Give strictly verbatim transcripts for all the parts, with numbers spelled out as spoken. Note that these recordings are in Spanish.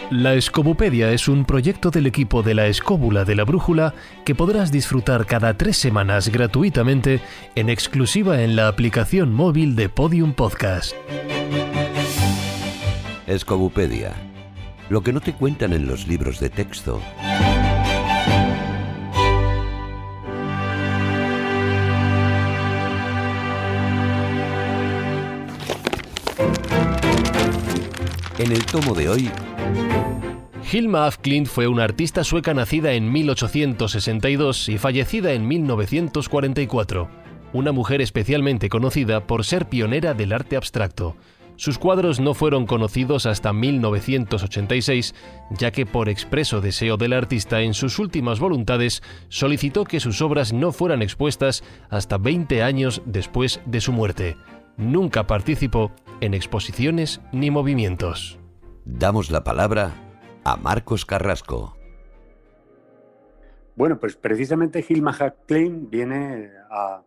La Escobupedia es un proyecto del equipo de la Escóbula de la Brújula que podrás disfrutar cada tres semanas gratuitamente en exclusiva en la aplicación móvil de Podium Podcast. Escobupedia. Lo que no te cuentan en los libros de texto. En el tomo de hoy... Hilma af Klint fue una artista sueca nacida en mil ochocientos sesenta y dos y fallecida en mil novecientos cuarenta y cuatro. Una mujer especialmente conocida por ser pionera del arte abstracto. Sus cuadros no fueron conocidos hasta mil novecientos ochenta y seis, ya que por expreso deseo del artista en sus últimas voluntades solicitó que sus obras no fueran expuestas hasta veinte años después de su muerte. Nunca participó en exposiciones ni movimientos. Damos la palabra a Marcos Carrasco. Bueno, pues precisamente Hilma af Klint viene a,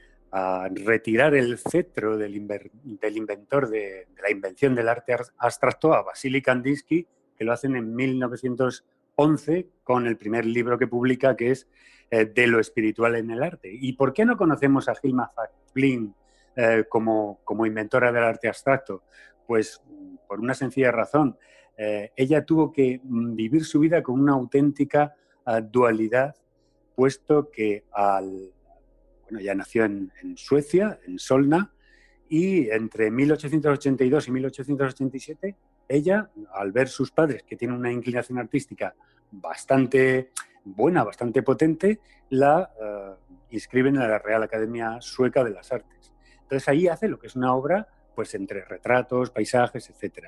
a retirar el cetro del, inver, del inventor de, de la invención del arte abstracto a Vasily Kandinsky, que lo hacen en mil novecientos once con el primer libro que publica, que es eh, De lo espiritual en el arte. ¿Y por qué no conocemos a Hilma af Klint eh, como, como inventora del arte abstracto? Pues por una sencilla razón. Eh, ella tuvo que vivir su vida con una auténtica uh, dualidad, puesto que al, bueno, ya nació en, en Suecia, en Solna, y entre mil ochocientos ochenta y dos y mil ochocientos ochenta y siete, ella, al ver sus padres, que tienen una inclinación artística bastante buena, bastante potente, la uh, inscriben en la Real Academia Sueca de las Artes. Entonces ahí hace lo que es una obra, pues entre retratos, paisajes, etcétera.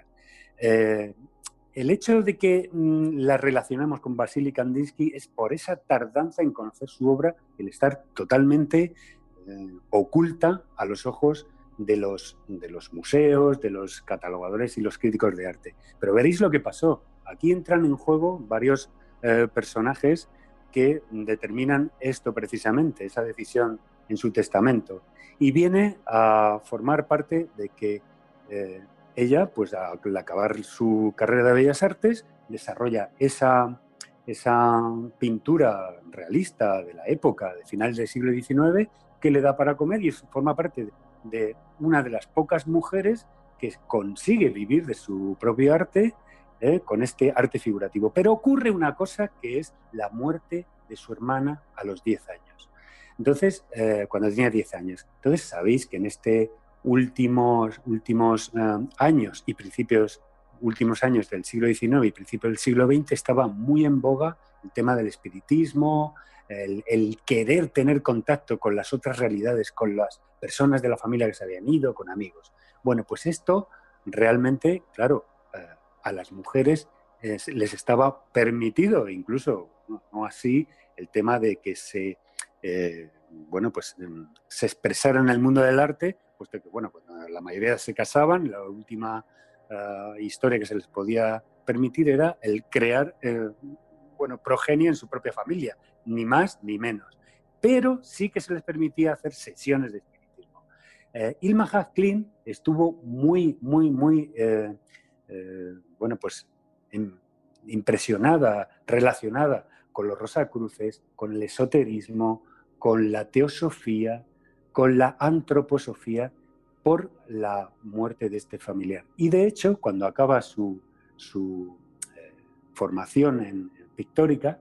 Eh, el hecho de que mmm, la relacionamos con Vasily Kandinsky es por esa tardanza en conocer su obra, el estar totalmente eh, oculta a los ojos de los, de los museos, de los catalogadores y los críticos de arte. Pero veréis lo que pasó. Aquí entran en juego varios eh, personajes que determinan esto precisamente, esa decisión en su testamento. Y viene a formar parte de que eh, ella, pues al acabar su carrera de Bellas Artes, desarrolla esa, esa pintura realista de la época, de finales del siglo diecinueve, que le da para comer y forma parte de, de una de las pocas mujeres que consigue vivir de su propio arte eh, con este arte figurativo. Pero ocurre una cosa, que es la muerte de su hermana a los diez años. Entonces, eh, cuando tenía diez años. Entonces, sabéis que en este últimos, últimos uh, años y principios, últimos años del siglo diecinueve y principios del siglo veinte estaba muy en boga el tema del espiritismo, el, el querer tener contacto con las otras realidades, con las personas de la familia que se habían ido, con amigos. Bueno, pues esto realmente, claro, uh, a las mujeres eh, les estaba permitido, incluso no, no así, el tema de que se... Eh, bueno, pues se expresaran en el mundo del arte, puesto que, bueno, pues la mayoría se casaban, la última uh, historia que se les podía permitir era el crear, eh, bueno, progenie en su propia familia, ni más ni menos. Pero sí que se les permitía hacer sesiones de espiritismo. Eh, Hilma af Klint estuvo muy, muy, muy, eh, eh, bueno, pues in, impresionada, relacionada con los Rosacruces, con el esoterismo, con la teosofía, con la antroposofía, por la muerte de este familiar. Y de hecho, cuando acaba su, su eh, formación en, en pictórica,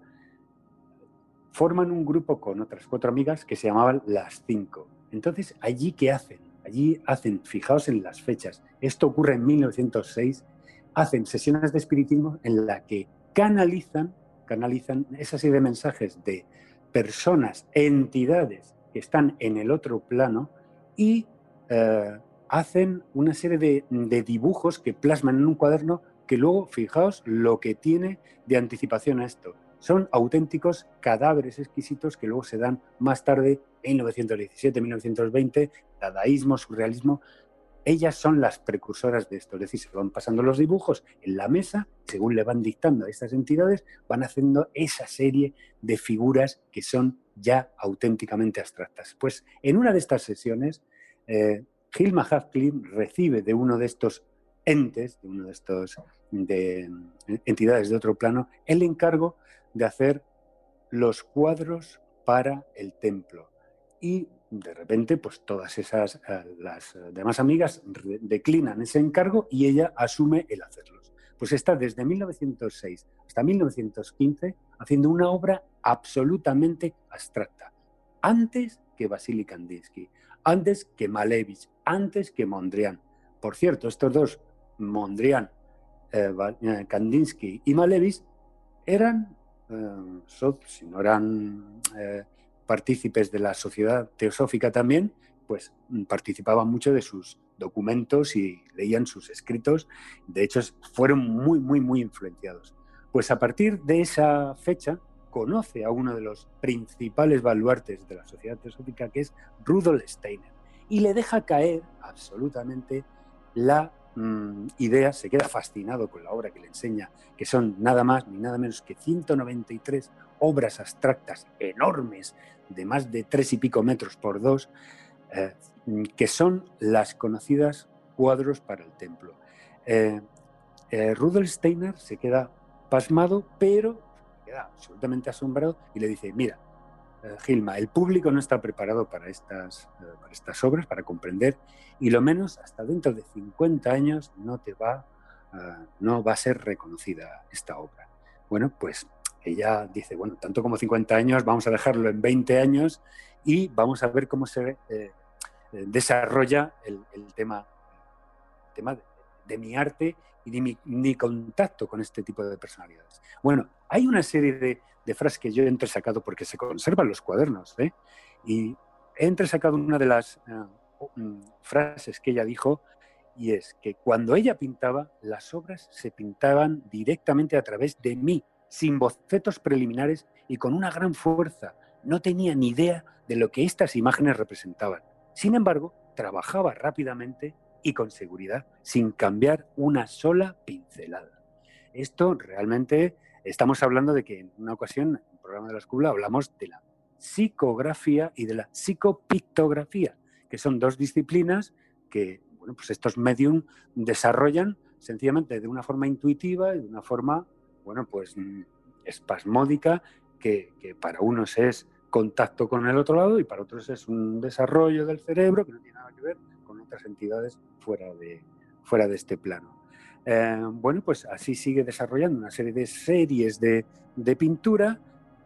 forman un grupo con otras cuatro amigas que se llamaban Las Cinco. Entonces, ¿allí qué hacen? Allí hacen, fijaos en las fechas, esto ocurre en mil novecientos seis, hacen sesiones de espiritismo en las que canalizan, canalizan esa serie de mensajes de personas, entidades que están en el otro plano y eh, hacen una serie de, de dibujos que plasman en un cuaderno que luego, fijaos lo que tiene de anticipación a esto. Son auténticos cadáveres exquisitos que luego se dan más tarde, en mil novecientos diecisiete, mil novecientos veinte, dadaísmo, surrealismo. Ellas son las precursoras de esto, es decir, se van pasando los dibujos en la mesa, según le van dictando a estas entidades, van haciendo esa serie de figuras que son ya auténticamente abstractas. Pues en una de estas sesiones, eh, Hilma af Klint recibe de uno de estos entes, de uno de estos de entidades de otro plano, el encargo de hacer los cuadros para el templo. Y de repente, pues todas esas, las demás amigas declinan ese encargo y ella asume el hacerlos. Pues está desde mil novecientos seis hasta mil novecientos quince haciendo una obra absolutamente abstracta. Antes que Vasily Kandinsky, antes que Malevich, antes que Mondrian. Por cierto, estos dos, Mondrian, eh, Kandinsky y Malevich, eran, eh, so, si no eran eh, partícipes de la Sociedad Teosófica también, pues participaban mucho de sus documentos y leían sus escritos. De hecho, fueron muy, muy, muy influenciados. Pues a partir de esa fecha, conoce a uno de los principales baluartes de la Sociedad Teosófica, que es Rudolf Steiner, y le deja caer absolutamente la mmm, idea, se queda fascinado con la obra que le enseña, que son nada más ni nada menos que ciento noventa y tres obras abstractas enormes, de más de tres y pico metros por dos, eh, que son las conocidas cuadros para el templo. Eh, eh, Rudolf Steiner se queda pasmado, pero se queda absolutamente asombrado y le dice, mira, eh, Gilma, el público no está preparado para estas, eh, para estas obras, para comprender, y lo menos hasta dentro de cincuenta años no te va, uh, no va a ser reconocida esta obra. Bueno, pues ella dice, bueno, tanto como cincuenta años, vamos a dejarlo en veinte años y vamos a ver cómo se eh, desarrolla el, el tema, el tema de, de mi arte y de mi, mi contacto con este tipo de personalidades. Bueno, hay una serie de, de frases que yo he entresacado porque se conservan los cuadernos, ¿eh? Y he entresacado una de las uh, um, frases que ella dijo, y es que cuando ella pintaba, las obras se pintaban directamente a través de mí, sin bocetos preliminares y con una gran fuerza. No tenía ni idea de lo que estas imágenes representaban. Sin embargo, trabajaba rápidamente y con seguridad, sin cambiar una sola pincelada. Esto realmente, estamos hablando de que en una ocasión, en el programa de la escuela, hablamos de la psicografía y de la psicopictografía, que son dos disciplinas que, bueno, pues estos medium desarrollan sencillamente de una forma intuitiva y de una forma, bueno, pues espasmódica, que, que para unos es contacto con el otro lado y para otros es un desarrollo del cerebro que no tiene nada que ver con otras entidades fuera de, fuera de este plano. Eh, bueno, pues así sigue desarrollando una serie de series de, de pintura.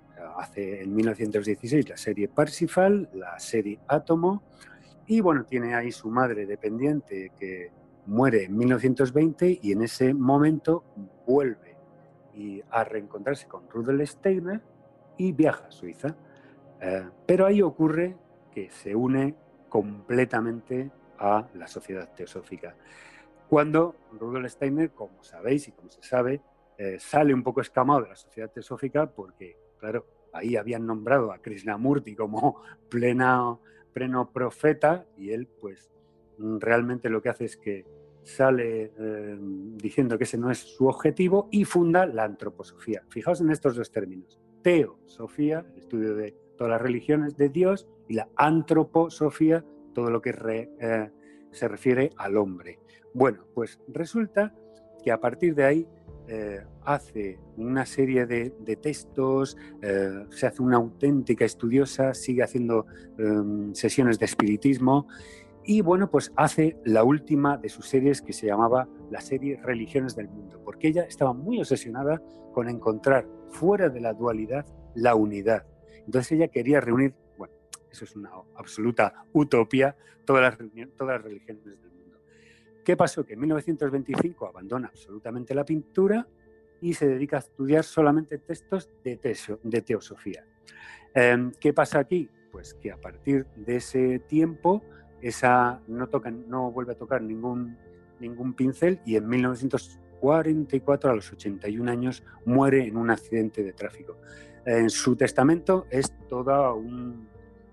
Hace en mil novecientos dieciséis la serie Parsifal, la serie Átomo, y bueno, tiene ahí su madre dependiente que muere en mil novecientos veinte y en ese momento vuelve y a reencontrarse con Rudolf Steiner y viaja a Suiza. Eh, pero ahí ocurre que se une completamente a la Sociedad Teosófica. Cuando Rudolf Steiner, como sabéis y como se sabe, eh, sale un poco escamado de la Sociedad Teosófica porque, claro, ahí habían nombrado a Krishnamurti como plena, pleno profeta y él, pues, realmente lo que hace es que sale eh, diciendo que ese no es su objetivo y funda la antroposofía. Fijaos en estos dos términos. Teosofía, el estudio de todas las religiones de Dios, y la antroposofía, todo lo que re, eh, se refiere al hombre. Bueno, pues resulta que a partir de ahí eh, hace una serie de, de textos, eh, se hace una auténtica estudiosa, sigue haciendo eh, sesiones de espiritismo y bueno, pues hace la última de sus series que se llamaba la serie Religiones del Mundo, porque ella estaba muy obsesionada con encontrar fuera de la dualidad la unidad. Entonces ella quería reunir, bueno, eso es una absoluta utopía, todas las, todas las religiones del mundo. ¿Qué pasó? Que en mil novecientos veinticinco abandona absolutamente la pintura y se dedica a estudiar solamente textos de, teso, de teosofía. Eh, ¿Qué pasa aquí? Pues que a partir de ese tiempo esa no, toca, no vuelve a tocar ningún, ningún pincel y en mil novecientos cuarenta y cuatro, a los ochenta y un años, muere en un accidente de tráfico. En su testamento es toda un...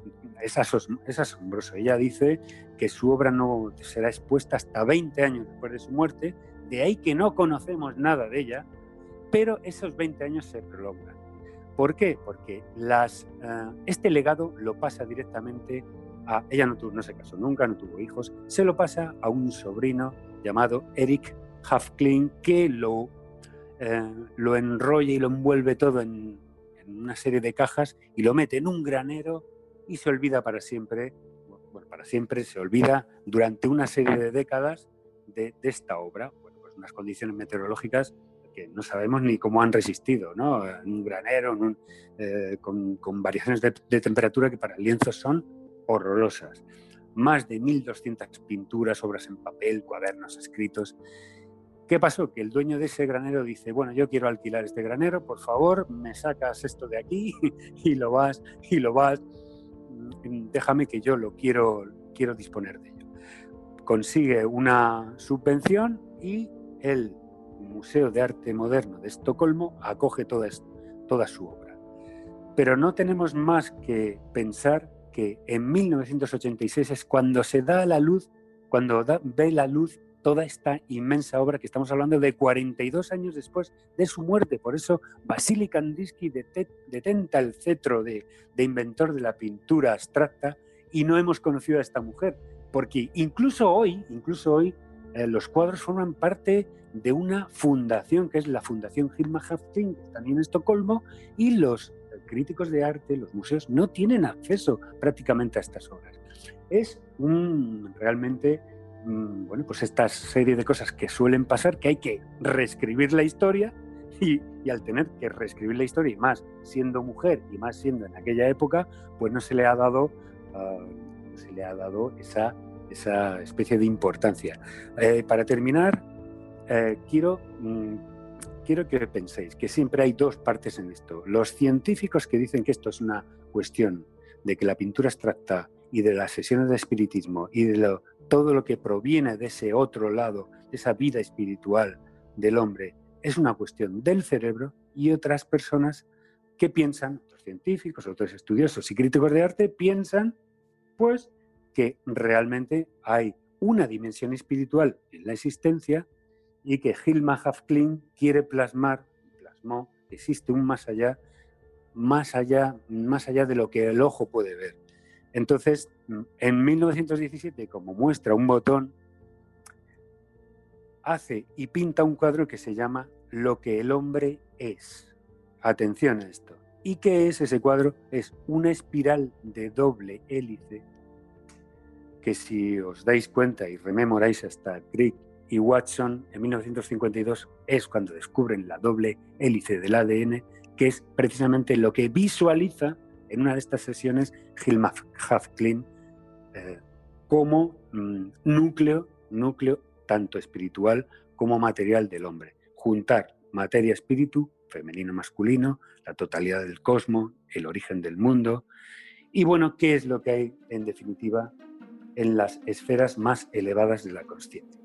Es, asos, es asombroso. Ella dice que su obra no será expuesta hasta veinte años después de su muerte, de ahí que no conocemos nada de ella, pero esos veinte años se prolongan. ¿Por qué? Porque las, uh, este legado lo pasa directamente a... Ella no, tuvo, no se casó nunca, no tuvo hijos, se lo pasa a un sobrino llamado Eric Haft-Klein, que lo, eh, lo enrolla y lo envuelve todo en, en una serie de cajas y lo mete en un granero y se olvida para siempre, bueno, para siempre se olvida durante una serie de décadas de, de esta obra. Bueno, pues unas condiciones meteorológicas que no sabemos ni cómo han resistido, ¿no? En un granero, en un, eh, con, con variaciones de, de temperatura que para el lienzo son horrorosas. Más de mil doscientas pinturas, obras en papel, cuadernos, escritos. ¿Qué pasó? Que el dueño de ese granero dice, bueno, yo quiero alquilar este granero, por favor, me sacas esto de aquí y lo vas, y lo vas, déjame que yo lo quiero, quiero disponer de ello. Consigue una subvención y el Museo de Arte Moderno de Estocolmo acoge toda, toda su obra. Pero no tenemos más que pensar que en mil novecientos ochenta y seis es cuando se da a la luz, cuando da, ve la luz toda esta inmensa obra, que estamos hablando de cuarenta y dos años después de su muerte. Por eso Vasily Kandinsky detenta el cetro de, de inventor de la pintura abstracta y no hemos conocido a esta mujer, porque incluso hoy, incluso hoy eh, los cuadros forman parte de una fundación, que es la Fundación Hilma af Klint, que está en Estocolmo, y los críticos de arte, los museos, no tienen acceso prácticamente a estas obras. Es un, realmente, bueno, pues esta serie de cosas que suelen pasar, que hay que reescribir la historia, y, y al tener que reescribir la historia, y más siendo mujer, y más siendo en aquella época, pues no se le ha dado, uh, se le ha dado esa, esa especie de importancia. Eh, para terminar, eh, quiero... Mm, Quiero que penséis que siempre hay dos partes en esto. Los científicos que dicen que esto es una cuestión de que la pintura abstracta y de las sesiones de espiritismo y de lo, todo lo que proviene de ese otro lado, de esa vida espiritual del hombre, es una cuestión del cerebro, y otras personas que piensan, otros científicos, otros estudiosos y críticos de arte, piensan pues que realmente hay una dimensión espiritual en la existencia y que Hilma af Klint quiere plasmar, plasmó, que existe un más allá, más allá, más allá de lo que el ojo puede ver. Entonces, en mil novecientos diecisiete, como muestra un botón, hace y pinta un cuadro que se llama Lo que el hombre es. Atención a esto. ¿Y qué es ese cuadro? Es una espiral de doble hélice que, si os dais cuenta y rememoráis hasta Crick y Watson, en mil novecientos cincuenta y dos es cuando descubren la doble hélice del A D N, que es precisamente lo que visualiza en una de estas sesiones Hilma af Klint eh, como mm, núcleo, núcleo tanto espiritual como material del hombre. Juntar materia-espíritu, femenino-masculino, la totalidad del cosmos, el origen del mundo. Y bueno, ¿qué es lo que hay en definitiva en las esferas más elevadas de la consciencia?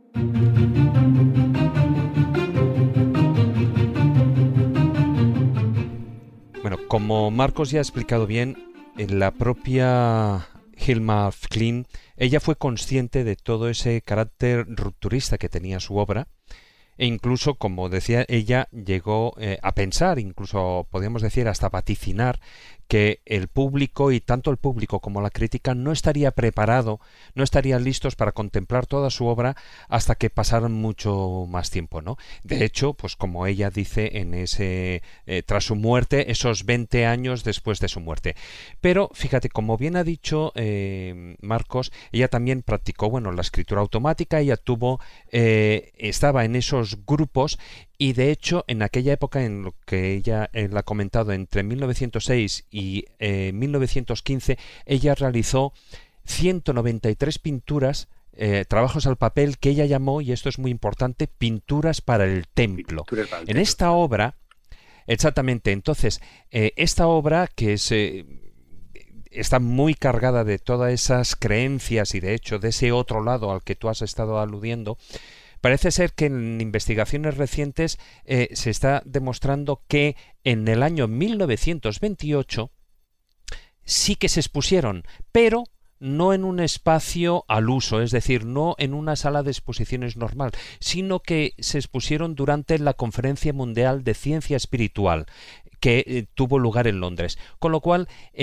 Bueno, como Marcos ya ha explicado bien, en la propia Hilma af Klint, ella fue consciente de todo ese carácter rupturista que tenía su obra, e incluso, como decía ella, llegó eh, a pensar, incluso podríamos decir hasta vaticinar, que el público, y tanto el público como la crítica, no estaría preparado, no estarían listos para contemplar toda su obra hasta que pasaran mucho más tiempo, ¿no? De hecho, pues como ella dice en ese eh, tras su muerte, esos veinte años después de su muerte. Pero fíjate, como bien ha dicho eh, Marcos, ella también practicó, bueno, la escritura automática. Ella tuvo, eh, estaba en esos grupos. Y de hecho, en aquella época, en lo que ella eh, la ha comentado, entre mil novecientos seis y eh, mil novecientos quince, ella realizó ciento noventa y tres pinturas, eh, trabajos al papel, que ella llamó, y esto es muy importante, pinturas para el templo. Para el templo. En esta obra, exactamente, entonces, eh, esta obra que es... Eh, está muy cargada de todas esas creencias y, de hecho, de ese otro lado al que tú has estado aludiendo. Parece ser que en investigaciones recientes eh, se está demostrando que en el año mil novecientos veintiocho sí que se expusieron, pero no en un espacio al uso, es decir, no en una sala de exposiciones normal, sino que se expusieron durante la Conferencia Mundial de Ciencia Espiritual, que eh, tuvo lugar en Londres. Con lo cual, eh,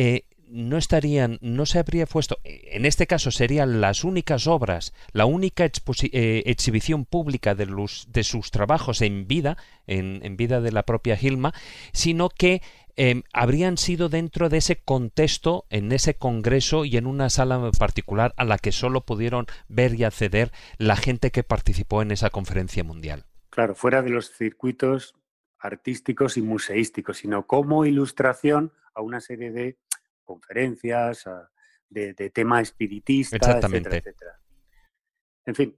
no estarían, no se habría puesto, en este caso serían las únicas obras, la única eh, exhibición pública de, los, de sus trabajos en vida, en, en vida de la propia Hilma, sino que eh, habrían sido dentro de ese contexto, en ese congreso y en una sala particular a la que solo pudieron ver y acceder la gente que participó en esa conferencia mundial. Claro, fuera de los circuitos artísticos y museísticos, sino como ilustración a una serie de conferencias, a, de, de tema espiritista, etcétera, etcétera. En fin.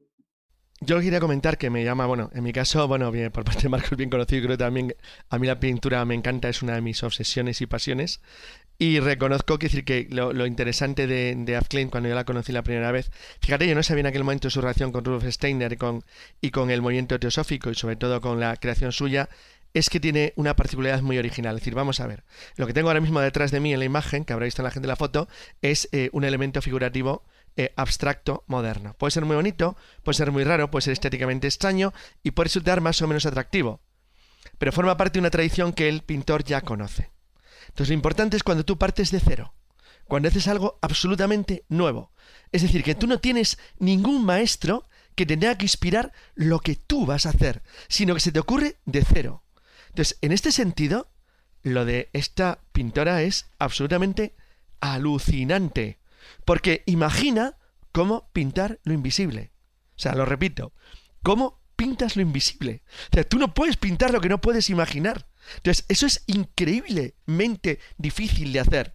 Yo quería comentar que me llama, bueno, en mi caso, bueno, bien, por parte de Marcos, bien conocido, creo que también a mí la pintura me encanta, es una de mis obsesiones y pasiones. Y reconozco que, decir, que lo, lo interesante de, de Af Klein, cuando yo la conocí la primera vez, fíjate, yo no sabía en aquel momento su relación con Rudolf Steiner y con, y con el movimiento teosófico y sobre todo con la creación suya, es que tiene una particularidad muy original. Es decir, vamos a ver, lo que tengo ahora mismo detrás de mí en la imagen, que habrá visto la gente en la foto, es eh, un elemento figurativo eh, abstracto moderno. Puede ser muy bonito, puede ser muy raro, puede ser estéticamente extraño y puede resultar más o menos atractivo, pero forma parte de una tradición que el pintor ya conoce. Entonces lo importante es cuando tú partes de cero, cuando haces algo absolutamente nuevo. Es decir, que tú no tienes ningún maestro que te tenga que inspirar lo que tú vas a hacer, sino que se te ocurre de cero. Entonces, en este sentido, lo de esta pintora es absolutamente alucinante, porque imagina cómo pintar lo invisible. O sea, lo repito, cómo pintas lo invisible. O sea, tú no puedes pintar lo que no puedes imaginar. Entonces, eso es increíblemente difícil de hacer.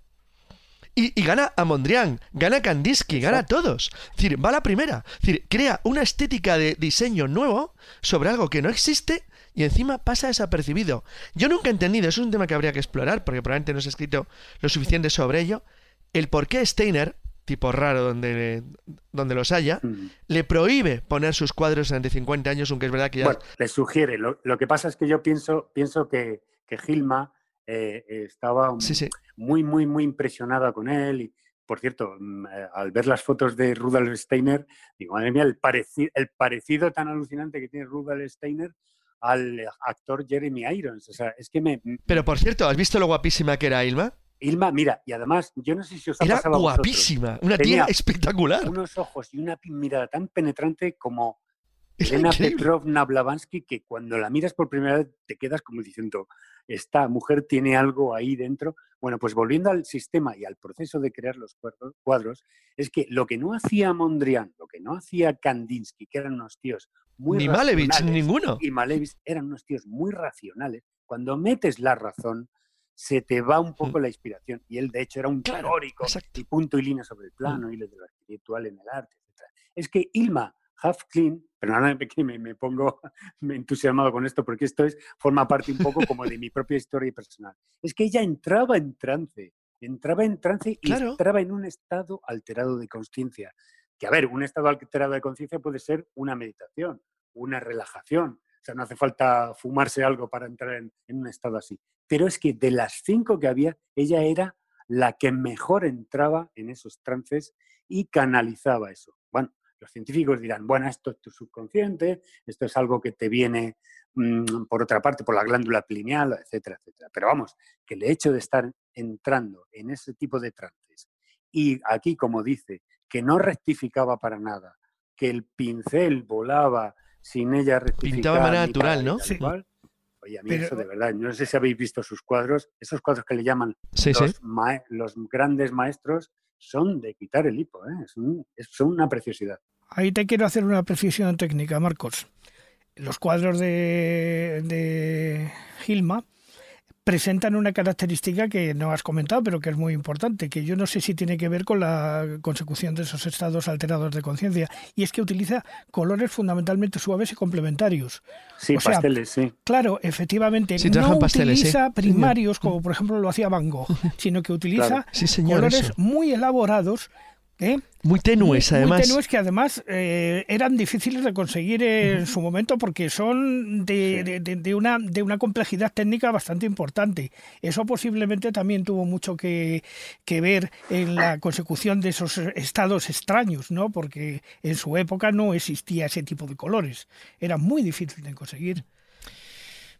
Y, y gana a Mondrian, gana a Kandinsky, gana a todos. Es decir, va a la primera. Es decir, crea una estética de diseño nuevo sobre algo que no existe y encima pasa desapercibido. Yo nunca he entendido, eso es un tema que habría que explorar, porque probablemente no se ha escrito lo suficiente sobre ello, el por qué Steiner, tipo raro donde, donde los haya, mm. le prohíbe poner sus cuadros durante cincuenta años, aunque es verdad que ya... Bueno, le sugiere. Lo, lo que pasa es que yo pienso, pienso que, que Hilma eh, estaba sí, sí. muy, muy, muy impresionada con él. Y, por cierto, al ver las fotos de Rudolf Steiner, digo, madre mía, el, pareci el parecido tan alucinante que tiene Rudolf Steiner al actor Jeremy Irons. O sea, es que me... Pero, por cierto, ¿has visto lo guapísima que era Hilma? Hilma, mira, y además, yo no sé si os ha Era pasado a guapísima, vosotros. una Tenía tía espectacular. Unos ojos y una mirada tan penetrante como Elena Petrovna Blavatsky, que cuando la miras por primera vez te quedas como diciendo, esta mujer tiene algo ahí dentro. Bueno, pues volviendo al sistema y al proceso de crear los cuadros, es que lo que no hacía Mondrian, lo que no hacía Kandinsky, que eran unos tíos muy Ni racionales, Malevich, ninguno. Y Malevich eran unos tíos muy racionales. Cuando metes la razón, se te va un poco mm. la inspiración. Y él, de hecho, era un claro, teórico exacto. y punto y línea sobre el plano mm. y lo de lo espiritual en el arte, etcétera. Es que Hilma Af Klein, perdóname que me, me pongo me entusiasmado con esto, porque esto es, forma parte un poco como de mi propia historia personal. Es que ella entraba en trance, entraba en trance y claro. entraba en un estado alterado de conciencia. Que, a ver, un estado alterado de conciencia puede ser una meditación, una relajación. O sea, no hace falta fumarse algo para entrar en, en un estado así. Pero es que de las cinco que había, ella era la que mejor entraba en esos trances y canalizaba eso. Bueno, los científicos dirán, bueno, esto es tu subconsciente, esto es algo que te viene, mmm, por otra parte, por la glándula pineal, etcétera, etcétera. Pero vamos, que el hecho de estar entrando en ese tipo de trances y aquí, como dice, que no rectificaba para nada, que el pincel volaba sin ella rectificar. Pintaba de manera natural, ¿no? Sí. Oye, a mí Pero... eso de verdad, no sé si habéis visto sus cuadros, esos cuadros que le llaman sí, los, sí. Ma los grandes maestros, son de quitar el hipo, ¿eh? es un, es, son una preciosidad. Ahí te quiero hacer una precisión técnica, Marcos. Los cuadros de, de Hilma presentan una característica que no has comentado, pero que es muy importante, que yo no sé si tiene que ver con la consecución de esos estados alterados de conciencia, y es que utiliza colores fundamentalmente suaves y complementarios. Sí, o sea, pasteles, sí. Claro, efectivamente, sí, no pasteles, utiliza sí. primarios, como por ejemplo lo hacía Van Gogh, sino que utiliza claro. sí, señor, colores eso. muy elaborados, ¿Eh? Muy tenues, muy, además. Muy tenues que además eh, eran difíciles de conseguir en su momento porque son de, de, de, de, una, de una complejidad técnica bastante importante. Eso posiblemente también tuvo mucho que, que ver en la consecución de esos estados extraños, ¿no? Porque en su época no existía ese tipo de colores. Era muy difícil de conseguir.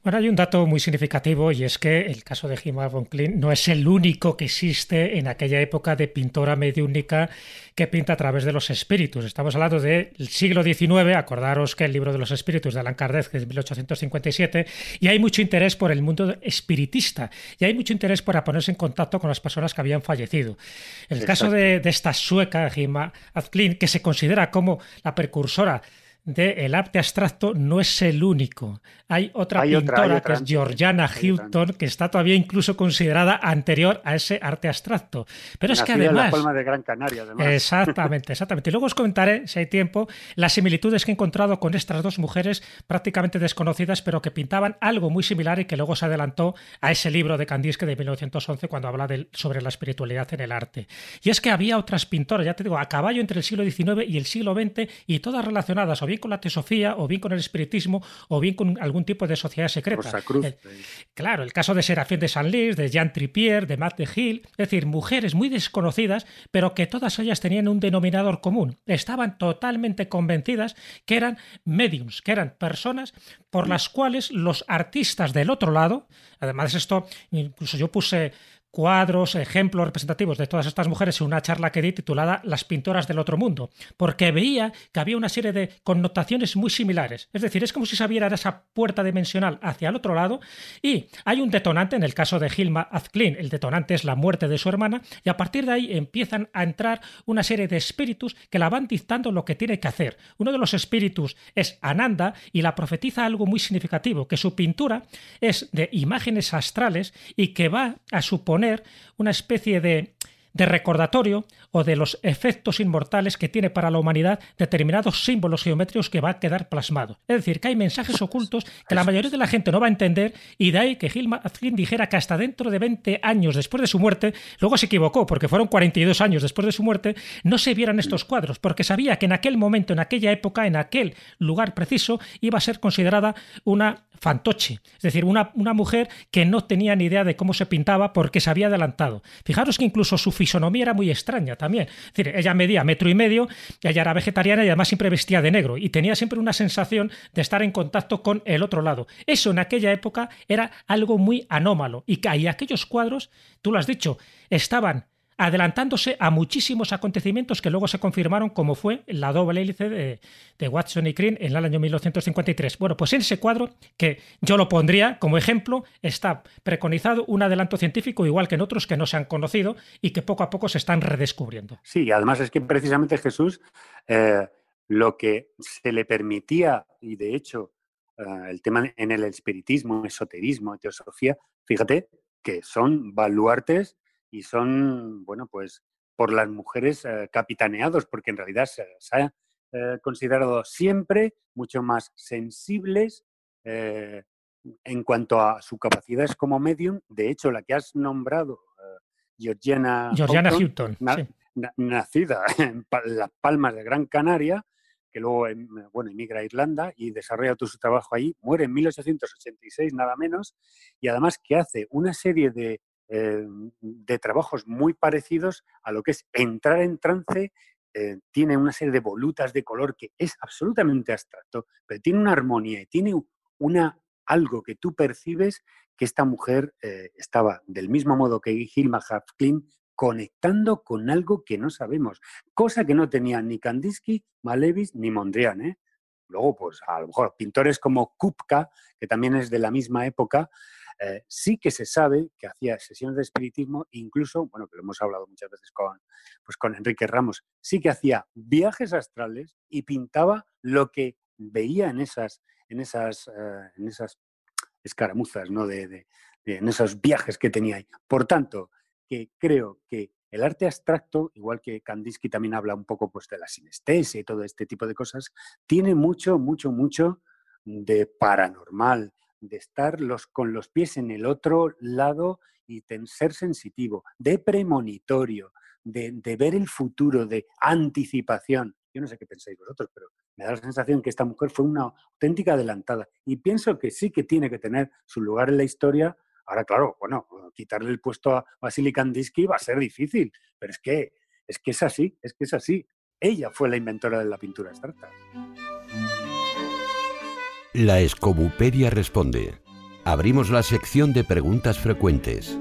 Bueno, hay un dato muy significativo y es que el caso de Hilma von Klint no es el único que existe en aquella época de pintora mediúnica que pinta a través de los espíritus. Estamos hablando del siglo diecinueve, acordaros que el libro de los espíritus de Allan Kardec es de mil ochocientos cincuenta y siete, y hay mucho interés por el mundo espiritista y hay mucho interés por ponerse en contacto con las personas que habían fallecido. En el Exacto. caso de, de esta sueca, Hilma af Klint, que se considera como la precursora del arte abstracto, no es el único. Hay otra hay pintora otra, otra, que es Georgiana Houghton, que está todavía incluso considerada anterior a ese arte abstracto. Pero es que además... en la Palma de Gran Canaria, además. Exactamente, exactamente. Y luego os comentaré, si hay tiempo, las similitudes que he encontrado con estas dos mujeres prácticamente desconocidas, pero que pintaban algo muy similar y que luego se adelantó a ese libro de Kandinsky de mil novecientos once cuando habla de, sobre la espiritualidad en el arte. Y es que había otras pintoras, ya te digo, a caballo entre el siglo diecinueve y el siglo veinte, y todas relacionadas o bien con la teosofía, o bien con el espiritismo, o bien con algún tipo de sociedad secreta. Cruz, el, claro, el caso de Serafín de Senlis, de Jean Tripier, de Matt de Hill, es decir, mujeres muy desconocidas, pero que todas ellas tenían un denominador común. Estaban totalmente convencidas que eran mediums, que eran personas por las cuales los artistas del otro lado, además de esto, incluso yo puse cuadros, ejemplos representativos de todas estas mujeres en una charla que di titulada Las pintoras del otro mundo, porque veía que había una serie de connotaciones muy similares. Es decir, es como si se abriera esa puerta dimensional hacia el otro lado y hay un detonante, en el caso de Hilma af Klint, el detonante es la muerte de su hermana, y a partir de ahí empiezan a entrar una serie de espíritus que la van dictando lo que tiene que hacer. Uno de los espíritus es Ananda y la profetiza algo muy significativo, que su pintura es de imágenes astrales y que va a suponer una especie de, de recordatorio o de los efectos inmortales que tiene para la humanidad determinados símbolos geométricos que va a quedar plasmados. Es decir, que hay mensajes ocultos que la mayoría de la gente no va a entender, y de ahí que Hilma af Klint dijera que hasta dentro de veinte años después de su muerte, luego se equivocó porque fueron cuarenta y dos años después de su muerte, no se vieran estos cuadros, porque sabía que en aquel momento, en aquella época, en aquel lugar preciso, iba a ser considerada una fantoche, es decir, una, una mujer que no tenía ni idea de cómo se pintaba porque se había adelantado. Fijaros que incluso su fisonomía era muy extraña también. Es decir, ella medía metro y medio, y ella era vegetariana y además siempre vestía de negro y tenía siempre una sensación de estar en contacto con el otro lado. Eso en aquella época era algo muy anómalo, y, y aquellos cuadros, tú lo has dicho, estaban adelantándose a muchísimos acontecimientos que luego se confirmaron, como fue la doble hélice de, de Watson y Crick en el año mil novecientos cincuenta y tres. Bueno, pues en ese cuadro, que yo lo pondría como ejemplo, está preconizado un adelanto científico, igual que en otros que no se han conocido y que poco a poco se están redescubriendo. Sí, además es que precisamente Jesús, eh, lo que se le permitía, y de hecho eh, el tema en el espiritismo, esoterismo, teosofía, fíjate que son baluartes y son, bueno, pues por las mujeres eh, capitaneados, porque en realidad se, se ha eh, considerado siempre mucho más sensibles eh, en cuanto a su capacidad como medium. De hecho, la que has nombrado, eh, Georgiana, Georgiana Houghton, Houghton na, sí. na, nacida en pa las Palmas de Gran Canaria, que luego bueno, emigra a Irlanda y desarrolla todo su trabajo ahí, muere en mil ochocientos ochenta y seis nada menos, y además que hace una serie de Eh, de trabajos muy parecidos a lo que es entrar en trance. Eh, tiene una serie de volutas de color que es absolutamente abstracto, pero tiene una armonía y tiene una, algo que tú percibes que esta mujer eh, estaba del mismo modo que Hilma af Klint conectando con algo que no sabemos, cosa que no tenían ni Kandinsky, Malevich ni Mondrian, ¿eh? Luego, pues a lo mejor pintores como Kupka, que también es de la misma época, Eh, sí que se sabe que hacía sesiones de espiritismo, incluso, bueno, que lo hemos hablado muchas veces con, pues con Enrique Ramos, sí que hacía viajes astrales y pintaba lo que veía en esas, en esas, uh, en esas escaramuzas, ¿no? de, de, de, en esos viajes que tenía ahí. Por tanto, que creo que el arte abstracto, igual que Kandinsky también habla un poco pues, de la sinestesia y todo este tipo de cosas, tiene mucho, mucho, mucho de paranormal, de estar los, con los pies en el otro lado y de ser sensitivo, de premonitorio, de, de ver el futuro, de anticipación. Yo no sé qué pensáis vosotros, pero me da la sensación que esta mujer fue una auténtica adelantada. Y pienso que sí que tiene que tener su lugar en la historia. Ahora, claro, bueno, quitarle el puesto a Vasily Kandinsky va a ser difícil, pero es que, es que es así, es que es así. Ella fue la inventora de la pintura abstracta. La Escobupedia responde. Abrimos la sección de preguntas frecuentes.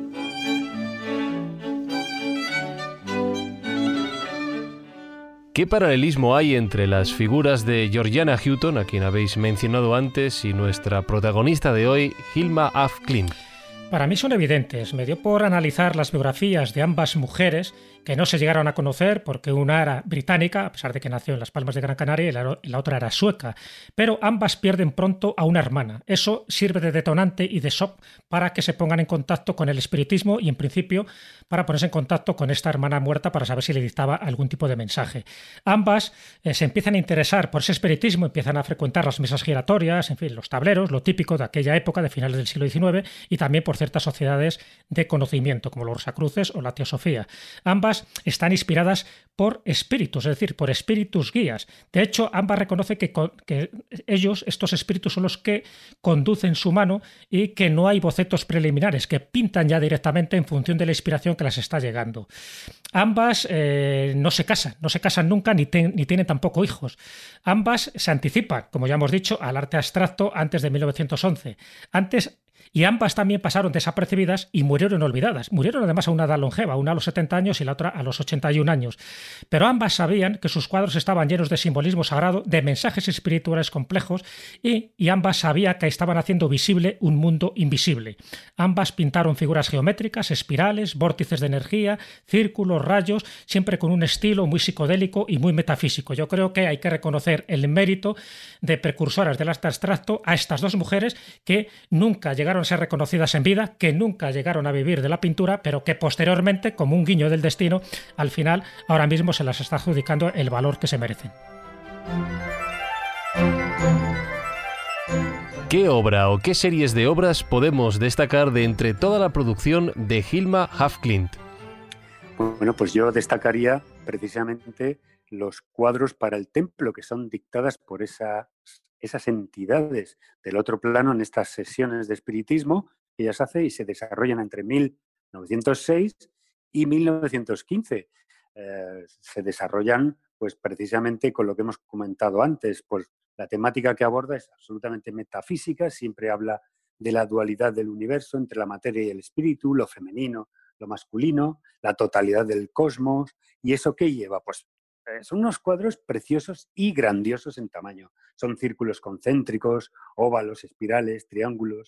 ¿Qué paralelismo hay entre las figuras de Georgiana Houghton, a quien habéis mencionado antes, y nuestra protagonista de hoy, Hilma af Klint? Para mí son evidentes. Me dio por analizar las biografías de ambas mujeres, que no se llegaron a conocer porque una era británica, a pesar de que nació en Las Palmas de Gran Canaria, y la, la otra era sueca. Pero ambas pierden pronto a una hermana. Eso sirve de detonante y de shock para que se pongan en contacto con el espiritismo y, en principio, para ponerse en contacto con esta hermana muerta para saber si le dictaba algún tipo de mensaje. Ambas eh, se empiezan a interesar por ese espiritismo, empiezan a frecuentar las mesas giratorias, en fin, los tableros, lo típico de aquella época, de finales del siglo diecinueve, y también por ciertas sociedades de conocimiento, como los Rosacruces o la Teosofía. Ambas están inspiradas por espíritus, es decir, por espíritus guías. De hecho, ambas reconocen que, que ellos, estos espíritus, son los que conducen su mano y que no hay bocetos preliminares, que pintan ya directamente en función de la inspiración que las está llegando. Ambas eh, no se casan, no se casan nunca ni, ten, ni tienen tampoco hijos. Ambas se anticipan, como ya hemos dicho, al arte abstracto antes de mil novecientos once. Antes Y ambas también pasaron desapercibidas y murieron olvidadas. Murieron además a una edad longeva, una a los setenta años y la otra a los ochenta y un años. Pero ambas sabían que sus cuadros estaban llenos de simbolismo sagrado, de mensajes espirituales complejos y, y ambas sabían que estaban haciendo visible un mundo invisible. Ambas pintaron figuras geométricas, espirales, vórtices de energía, círculos, rayos, siempre con un estilo muy psicodélico y muy metafísico. Yo creo que hay que reconocer el mérito de precursoras del arte abstracto a estas dos mujeres que nunca llegaron a ser reconocidas en vida, que nunca llegaron a vivir de la pintura, pero que posteriormente, como un guiño del destino, al final ahora mismo se las está adjudicando el valor que se merecen. ¿Qué obra o qué series de obras podemos destacar de entre toda la producción de Hilma af Klint? Bueno, pues yo destacaría precisamente los cuadros para el templo que son dictadas por esa esas entidades del otro plano en estas sesiones de espiritismo que ellas hacen y se desarrollan entre mil novecientos seis y mil novecientos quince. Eh, se desarrollan pues precisamente con lo que hemos comentado antes, pues la temática que aborda es absolutamente metafísica, siempre habla de la dualidad del universo entre la materia y el espíritu, lo femenino, lo masculino, la totalidad del cosmos. ¿Y eso qué lleva? Pues son unos cuadros preciosos y grandiosos en tamaño. Son círculos concéntricos, óvalos, espirales, triángulos,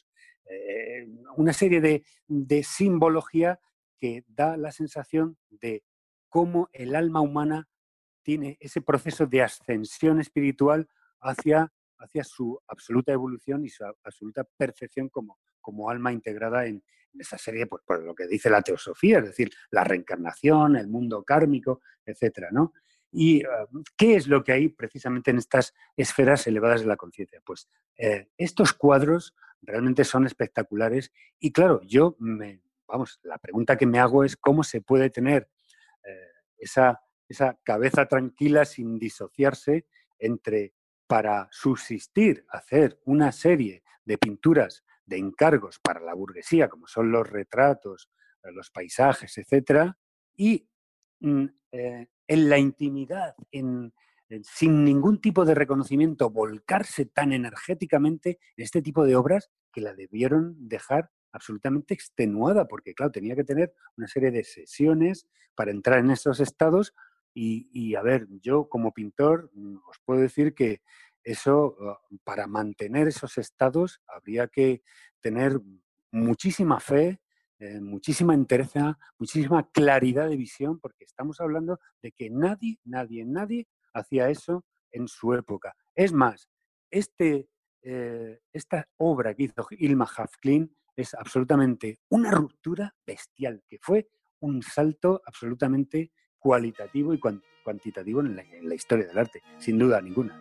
eh, una serie de, de simbología que da la sensación de cómo el alma humana tiene ese proceso de ascensión espiritual hacia, hacia su absoluta evolución y su absoluta perfección como, como alma integrada en, en esa serie, pues, por lo que dice la teosofía, es decir, la reencarnación, el mundo kármico, etcétera, ¿no? ¿Y uh, qué es lo que hay precisamente en estas esferas elevadas de la conciencia? Pues eh, estos cuadros realmente son espectaculares y claro, yo, me, vamos, la pregunta que me hago es cómo se puede tener eh, esa, esa cabeza tranquila sin disociarse entre, para subsistir, hacer una serie de pinturas de encargos para la burguesía, como son los retratos, los paisajes, etcétera, y mm, eh, en la intimidad, en, en, sin ningún tipo de reconocimiento, volcarse tan energéticamente en este tipo de obras que la debieron dejar absolutamente extenuada, porque claro, tenía que tener una serie de sesiones para entrar en esos estados y, y a ver, yo como pintor os puedo decir que eso, para mantener esos estados, habría que tener muchísima fe, Eh, muchísima entereza, muchísima claridad de visión, porque estamos hablando de que nadie, nadie, nadie hacía eso en su época. Es más, este, eh, esta obra que hizo Hilma af Klint es absolutamente una ruptura bestial, que fue un salto absolutamente cualitativo y cuantitativo en la, en la historia del arte, sin duda ninguna.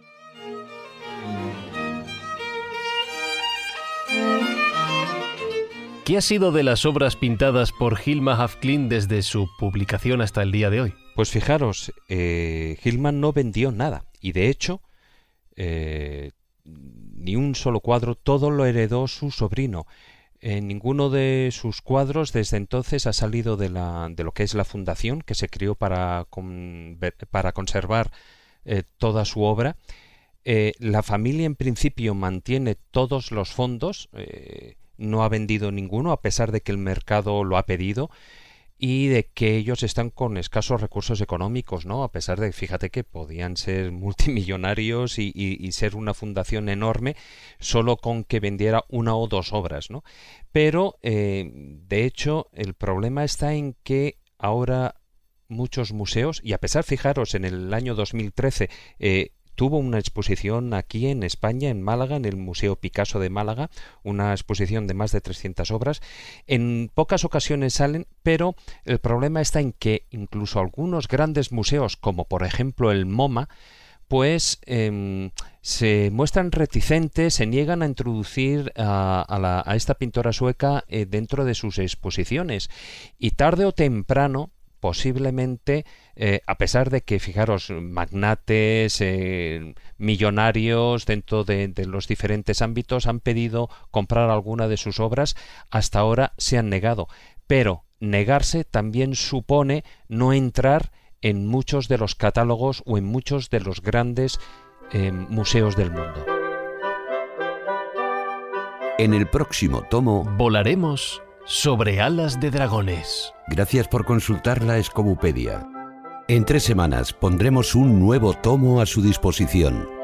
¿Qué ha sido de las obras pintadas por Hilma af Klint desde su publicación hasta el día de hoy? Pues fijaros, eh, Hilma no vendió nada y de hecho eh, ni un solo cuadro, todo lo heredó su sobrino. Eh, ninguno de sus cuadros desde entonces ha salido de, la, de lo que es la fundación que se creó para, con, para conservar eh, toda su obra. Eh, la familia en principio mantiene todos los fondos. Eh, no ha vendido ninguno, a pesar de que el mercado lo ha pedido, y de que ellos están con escasos recursos económicos, ¿no? A pesar de, fíjate que podían ser multimillonarios y, y, y ser una fundación enorme solo con que vendiera una o dos obras, ¿no? Pero, eh, de hecho, el problema está en que ahora muchos museos, y a pesar, fijaros, en el año dos mil trece eh, tuvo una exposición aquí en España, en Málaga, en el Museo Picasso de Málaga, una exposición de más de trescientas obras. En pocas ocasiones salen, pero el problema está en que incluso algunos grandes museos, como por ejemplo el MoMA, pues eh, se muestran reticentes, se niegan a introducir a, a, la, a esta pintora sueca eh, dentro de sus exposiciones. Y tarde o temprano, posiblemente, eh, a pesar de que, fijaros, magnates, eh, millonarios dentro de, de los diferentes ámbitos han pedido comprar alguna de sus obras, hasta ahora se han negado. Pero negarse también supone no entrar en muchos de los catálogos o en muchos de los grandes eh, museos del mundo. En el próximo tomo volaremos sobre alas de dragones. Gracias por consultar la Escobupedia. En tres semanas pondremos un nuevo tomo a su disposición.